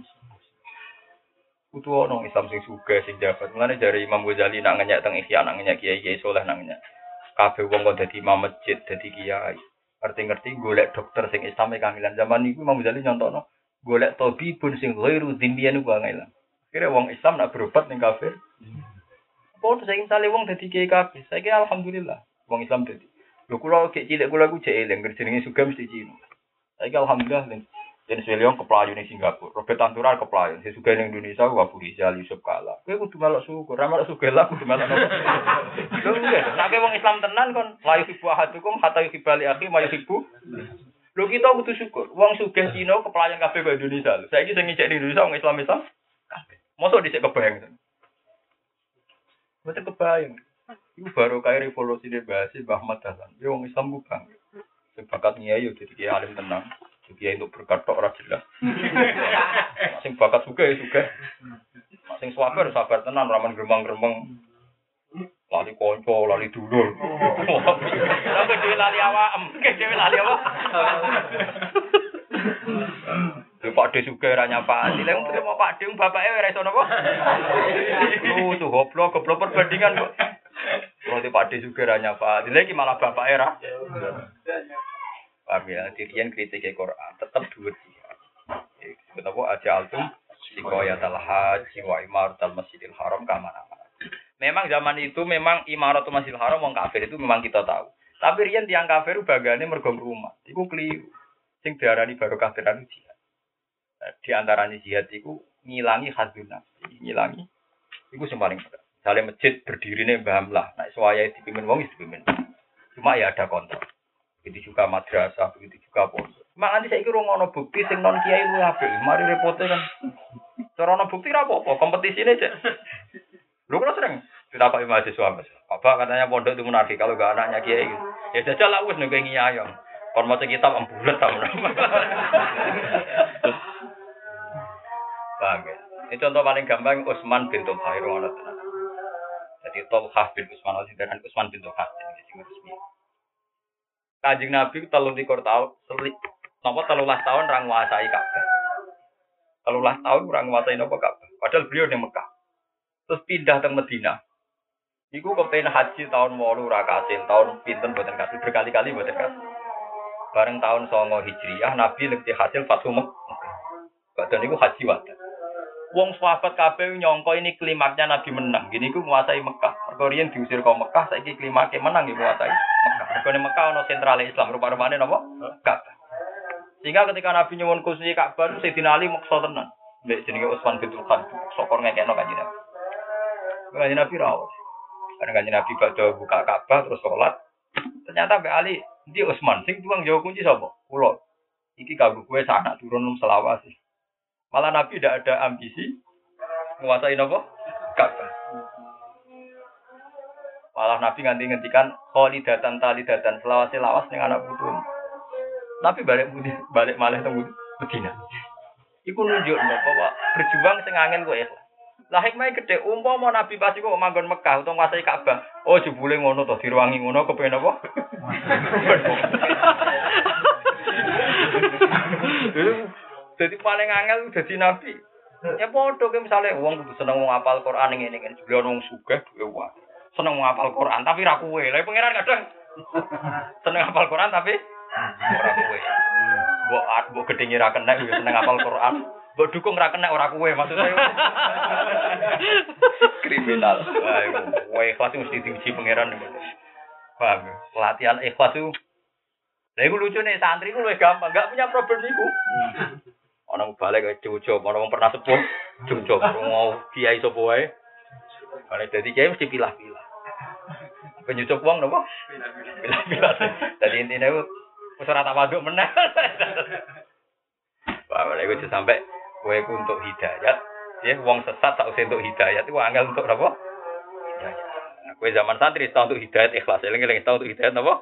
Kudu ono Islam sing sugih sing jabat. Mulane jare Imam Ghazali nak ngenyak teng Ihya nak ngenyak kiai-kiai soleh nak ngenyak. Kabeh wong kok dadi imam masjid, dadi kiai. Ngerti-ngerti golek dokter sing Islam e kangelan. Zaman niku Imam Ghazali nyontokno golek tabibun sing ghairu dzimmiyan ku kangelan. Kira wong Islam nak berobat ning kafir. Kok saiki sale wong dadi kiai kabeh. Saiki alhamdulillah wong Islam dadi. Lho kula kek cilik kula ku jek eling jenenge sugih mesti Cina. Saiki alhamdulillah ning Dennis William keplayu ning Singapura, Robert Tantural keplayu, sing sugih ning Indonesia ku Abu Rizal Yusuf Kala. Kowe kudu melok syukur, ra melok sugih lah kudu melok. Lho nggih, nek wong Islam tenan kon layu hibu ahadukum hatta yuhibali akhi ma yuhibbu. Lho kita kudu syukur, wong sugih Cina keplayan kabeh kok Indonesia. Saiki sing ngicek ning Indonesia wong Islam-Islam kabeh. Mosok dhisik kebayang. Mboten kebayang. Iku baru kaya revolusi de bahasa Mbah Ahmad Dahlan. Ya wong Islam ku bang. Sing bakat nyai yo dadi kiai alim tenang. Kiai untuk berkat tok ora jelas. Sing bakat sugih sugih. Sing sabar sabar tenan ora men gremeng-gremeng. Lali kanca, lali dulur. Lah dhewe lali awak, dhewe lali apa? Lha Pak De sugih ora nyapani. Lha wong mau Pak De bapake ora iso napa? Lu tuh goblok, goblok perbandingan kok. Kalau di Pak De juga ranya Pak, lagi malah bapak era. Paham ya, dirian kritik Quran tetap dua dia. Kenapa aja altum sikoyat al-haji wa imarat al-masjidil haram kamana. Memang zaman itu memang imarat al-masjidil haram wong kafir itu memang kita tahu. Tapi riyen tiang kafir bagane mergo rumah. Iku keliru. Sing diarani baru kafiran jihad. Di antaranya jihad iku ngilangi hadzun nafsi, ngilangi. Iku sing paling berat. Sale masjid berdiri nih Mbah Amlah, nah suaya dipimpin wong dipimpin. Cuma ya ada kontrol. Begitu juga madrasah, begitu juga pondok. Mak nanti saya kira ngono bukti sing non kiai lu apik. Mari repote kan. Cara ono bukti ra apa-apa, kompetisine cek. Lu kan sering ditakoki mahasiswa Mas. Bapak katanya pondok itu munafik kalau enggak anaknya kiai gitu. Ya jajal lah wis nek ngiyayong. Kon maca kitab ambulet ta. Paham ya? Ini contoh paling gampang Utsman bin Talha ngono tenan. Jadi Talha bin Utsman dan Utsman bin Talha ini sing resmi. Kanjeng Nabi telung likur tahun, napa telulas tahun ra nguasai Ka'bah. telulas tahun ra nguasai napa Ka'bah. Padahal beliau di Mekah. Terus pindah ke Madinah. Iku kepen haji tahun wolu ra kasil, tahun pinten boten kasil, berkali-kali boten kasil. Bareng tahun songo Hijriah Nabi lebih hasil Fathu Mekah. Badan niku haji wadah. Wong sahabat kabeh nyangka ini klimaknya Nabi menang. Gini ku nguasai Mekah. Mergo riyen diusir ke Mekah, saiki klimaknya menang iki nguasai Mekah. Mergo ning Mekah ana sentral Islam, rupa-rupane napa? Ka'bah. Sehingga ketika Nabi nyuwun kursi Ka'bah, Sayyidina Ali maksa tenan. Mbek jenenge Utsman bin Talha, sokor ngekekno Kanjeng Nabi. Kanjeng Nabi rawuh. Karena Kanjeng Nabi badhe buka Ka'bah terus salat. Ternyata Mbak Ali, "Ndi Utsman sing tuang jauh kunci sapa?" Kula. Iki kanggo kowe sanak turun selawas. Malah Nabi tidak ada ambisi menguasai apa? Ka'bah. Malah Nabi nganti ngendikan khalidatan talidatan selawase lawas ning anak putu. Nabi balik balik malih teng Madinah. Iku nunjukno bahwa berjuang sing angel kok ikhlas. Lah hikmahe gedhe umpama Nabi pas iku manggon Mekah utawa nguasai Ka'bah. Oh jebule ngono to diruwangi ngono kepen apa? Jadi paling angel dadi nabi. Ya padha ke misale wong kudu seneng wong hafal Quran ngene ngene. Jebule wong sugih duwe wae. Seneng wong hafal Quran tapi ra kuwe. Lah pangeran kadang seneng hafal Quran tapi ora kuwe. Mbok mbok gedhe ra kena seneng hafal Quran. Mbok dukung ra kena ora kuwe maksudnya. Kriminal. Wah, ikhlas mesti diuji pangeran. Paham? Latihan ikhlas itu. Lah iku lucune santri ku luwih gampang, enggak punya problem iku. Ana balik ke cucu, ana wong pernah sepuh, cucu mau kiai sapa wae. Balik dadi kiai mesti pilah-pilah. Penyucup wong napa? Pilah-pilah. Dadi intine ku wis ora tak waduk meneh. Wah, lha iku sampai kowe ku untuk hidayat Ya, wong sesat tak usah untuk hidayat itu angel untuk apa? Hidayat. Nah, kowe zaman santri tau untuk hidayat ikhlas, eling-eling tau untuk hidayat apa?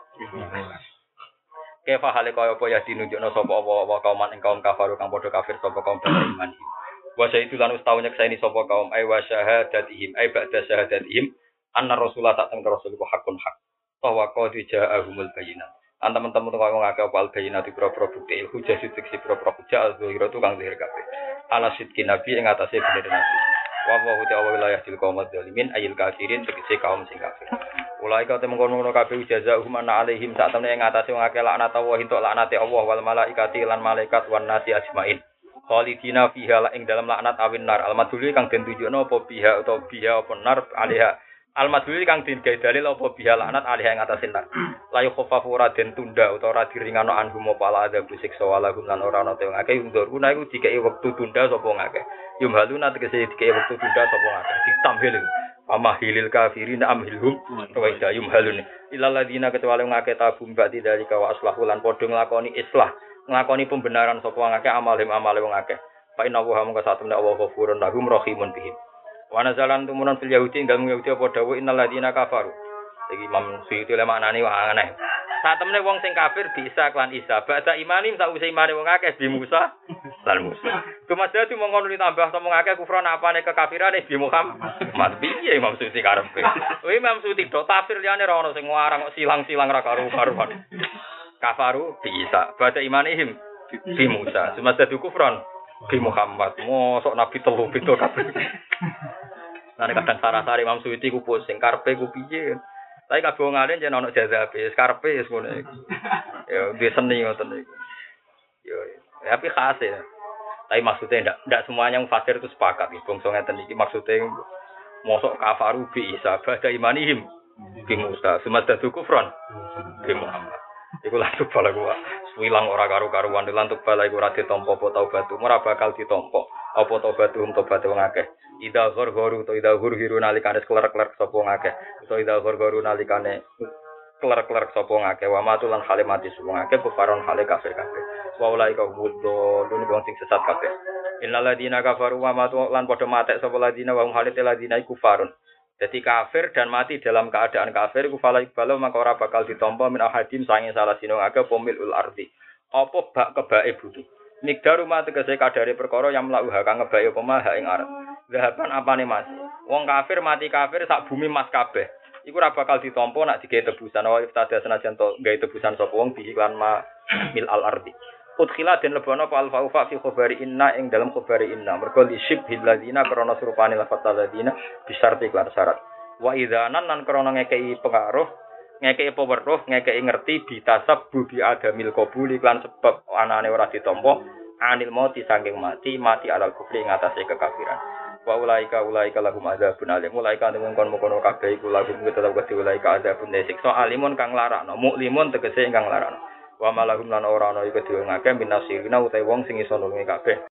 Kefa hale kaya apa ya dinunjukno sapa apa kaum ing kaum kafir kang padha kafir sapa kaum beriman. Wa itu lan ustau nyekseni sapa kaum ay wa syahadatihim ay ba'da syahadatihim anna rasulullah tak temne rasul ku hakun hak. Bahwa qad ja'ahumul bayyinat. An teman-teman kok ngake apa al bayyinat pro-pro bukti hujah sidik si pro-pro hujah al-zahira tu kang zahir kabeh. Ala sidqi nabi ing atase bener nabi. Wa wa ta'ala wilayah til kaum zalimin ayil kafirin tegese kaum sing kafir. Ulai kau temu kono kabeh jazaahum ana alaihim sak temne ing atase wong akeh laknat Allah entuk laknate Allah wal malaikati lan malaikat wan nasi ajmain. Khalidina fiha la ing dalam laknat awin nar al-madhuli kang den tunjukno apa biha utawa biha apa nar alaiha al-madhuli kang den gawe dalil apa biha laknat alaiha ing atase nar. La yukhaffafu ora den tunda utawa ora diringano anhum apa ala ada siksa walahum lan ora ana te wong akeh unduruna iku dikeki wektu tunda sapa wong akeh. Yumhaluna tegese dikeki wektu tunda sapa wong akeh ditamhil. Amahilil kafirin amhilhum wa idayum halun ilal ladina kecuali ngake tabum ba'di dari kawa aslahu lan padha nglakoni islah nglakoni pembenaran sapa ngake amalhim amale wong akeh fa inna wa mung kasatune Allah ghafurun lahum rahimun bihim wa nazalan tumunan fil yahudi ing dalem yahudi apa dawuh innal ladina kafaru iki Imam Suyuti le maknane aneh sak temene wong sing kafir bisa klan Isa ba'da imanim sause imane wong akeh bi Musa lan Musa Tumasya itu mongkon ditambah sama ngake kufran apane kekafirane bi Muhammad. Piye Imam Suyuti karepe? Kuwi Imam Suyuti do tafsir liyane ra ono sing ngarang kok silang-silang ra karu-karuan. Kafaru bisa baca imanihim bi Musa. Tumasya itu kufran bi Muhammad. Mosok nabi telu beda kabeh. Lah kadang sarah-sari Imam Suyuti ku pusing karepe ku piye. Tapi kabeh wong alim yen ono jazabe, karepe wis ngono iku. Ya di seni ngoten iku. Yo tapi khas ya. Tapi maksudnya ndak ndak semuanya yang fasir itu sepakat iki. Bangsa ngeten iki maksudnya mosok kafaru bi Isa ba'da imanihim bi Musa semada kufran bi Muhammad. Iku lantuk bala gua. Wilang ora karo-karuan lantuk bala iku ora ditampa apa taubatu. Ora bakal ditampa apa taubatu tobat wong akeh. Ida ghorghoru to ida ghurhiru nalikane klerk-klerk sapa wong akeh. To ida ghorghoru nalikane klerk-klerk sapa wong akeh. Wa matulan hale mati sapa wong akeh kufaron hale kafir kabeh. Wa ulai ka buddo dene wong sing sesat kabeh. Innal ladina kafaru wa matu lan padha matek sapa ladina wa halite ladina iku farun. Jadi kafir dan mati dalam keadaan kafir iku fala ibalo maka ora bakal ditampa min ahadim sange salah sino akeh pomilul ardi. Apa bak kebake butuh. Migdaru mate tegese kadare perkara yang mlauha kang ngebake apa mah ing arep. Zahaban apane mas. Wong kafir mati kafir sak bumi mas kabeh. Iku ora bakal ditampa nek digawe tebusan wa iftada senajan to gawe tebusan sapa wong diiklan ma mil al ardi. Udkhila den lebono apa alfa fi khabari inna ing dalam khabari inna mergo li syibhil ladina krana surupane lafat ladina bisarti iklan syarat wa idzanan lan krana ngekeki pengaruh ngekeki peweruh ngekeki ngerti bitasab bubi adamil qabul iklan sebab anane ora ditampa anil mati saking mati mati alal kufri ngatasé kekafiran wa ulaika ulaika lahum adzabun alim ulaika temen kon-kono kabeh iku lahum tetep wedi ulaika adzabun siksa alimun kang larakno muklimun tegese ingkang larakno wa malahum lan ora ana iku dhewe ngake minasirina utawa wong sing iso nulungi kabeh